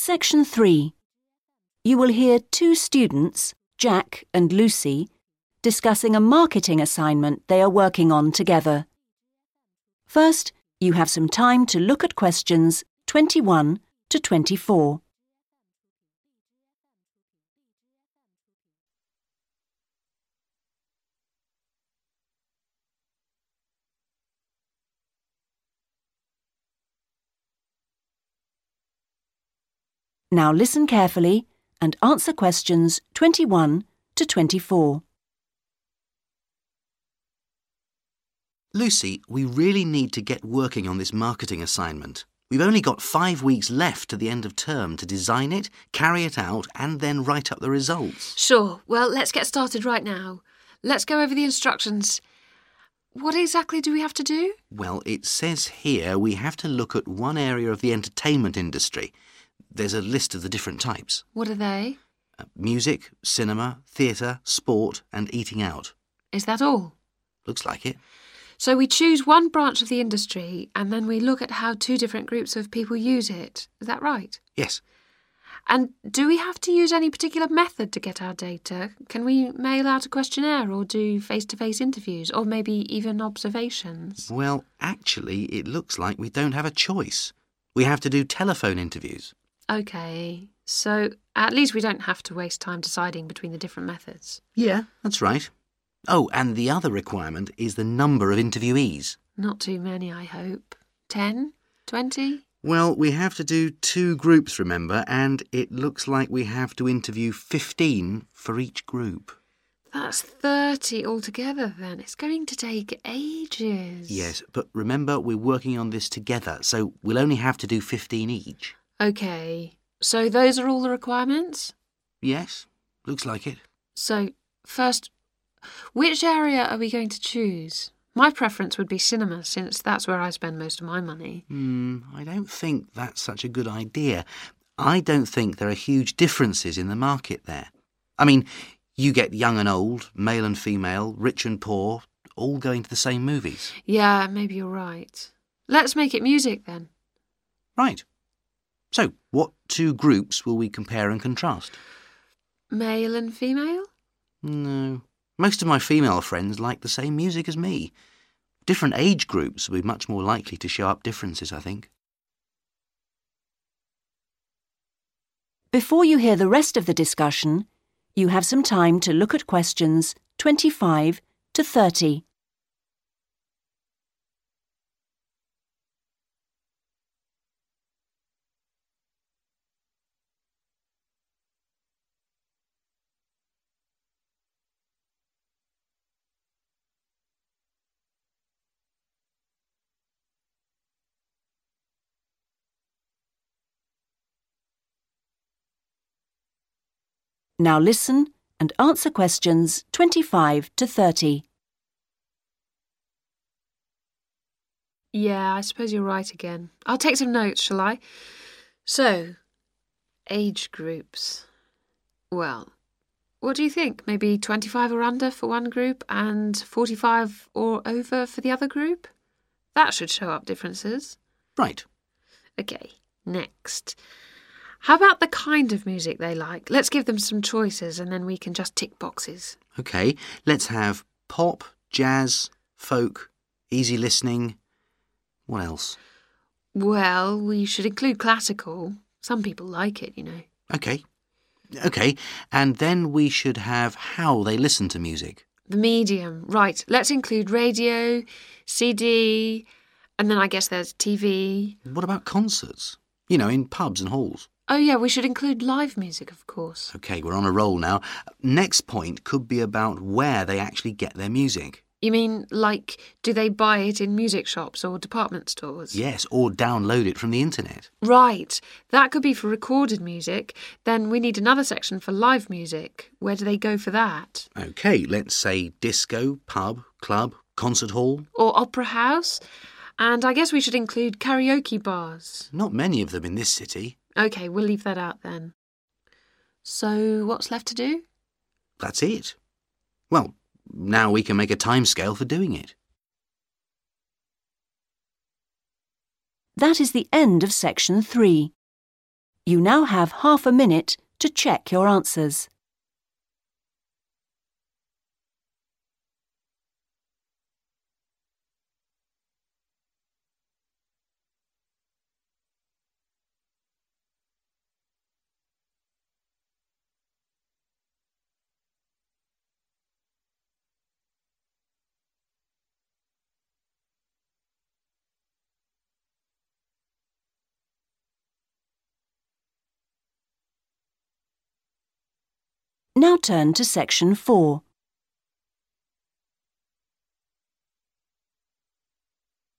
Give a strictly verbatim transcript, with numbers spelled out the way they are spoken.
Section three. You will hear two students, Jack and Lucy, discussing a marketing assignment they are working on together. First, you have some time to look at questions twenty-one to twenty-four. Now listen carefully and answer questions twenty-one to twenty-four. Lucy, we really need to get working on this marketing assignment. We've only got five weeks left to the end of term to design it, carry it out, and then write up the results. Sure. Well, let's get started right now. Let's go over the instructions. What exactly do we have to do? Well, it says here we have to look at one area of the entertainment industry. There's a list of the different types. What are they? Uh, music, cinema, theatre, sport, and eating out. Is that all? Looks like it. So we choose one branch of the industry and then we look at how two different groups of people use it. Is that right? Yes. And do we have to use any particular method to get our data? Can we mail out a questionnaire or do face-to-face interviews or maybe even observations? Well, actually, it looks like we don't have a choice. We have to do telephone interviews. OK, so at least we don't have to waste time deciding between the different methods. Yeah, that's right. Oh, and the other requirement is the number of interviewees. Not too many, I hope. Ten? Twenty? Well, we have to do two groups, remember, and it looks like we have to interview fifteen for each group. That's thirty altogether, then. It's going to take ages. Yes, but remember, we're working on this together, so we'll only have to do fifteen each. OK, so those are all the requirements? Yes, looks like it. So, first, which area are we going to choose? My preference would be cinema, since that's where I spend most of my money. Hmm, I don't think that's such a good idea. I don't think there are huge differences in the market there. I mean, you get young and old, male and female, rich and poor, all going to the same movies. Yeah, maybe you're right. Let's make it music, then. Right. So, what two groups will we compare and contrast? Male and female? No. Most of my female friends like the same music as me. Different age groups will be much more likely to show up differences, I think. Before you hear the rest of the discussion, you have some time to look at questions twenty-five to thirty. Now listen and answer questions twenty-five to thirty. Yeah, I suppose you're right again. I'll take some notes, shall I? So, age groups. Well, what do you think? Maybe twenty-five or under for one group and forty-five or over for the other group? That should show up differences. Right. OK, next. How about the kind of music they like? Let's give them some choices and then we can just tick boxes. OK, let's have pop, jazz, folk, easy listening. What else? Well, we should include classical. Some people like it, you know. OK. OK, and then we should have how they listen to music. The medium. Right, let's include radio, C D, and then I guess there's T V. What about concerts? You know, in pubs and halls. Oh, yeah, we should include live music, of course. OK, we're on a roll now. Next point could be about where they actually get their music. You mean, like, do they buy it in music shops or department stores? Yes, or download it from the internet. Right. That could be for recorded music. Then we need another section for live music. Where do they go for that? OK, let's say disco, pub, club, concert hall. Or opera house. And I guess we should include karaoke bars. Not many of them in this city. OK, we'll leave that out then. So what's left to do? That's it. Well, now we can make a timescale for doing it. That is the end of section three. You now have half a minute to check your answers. Now turn to section four.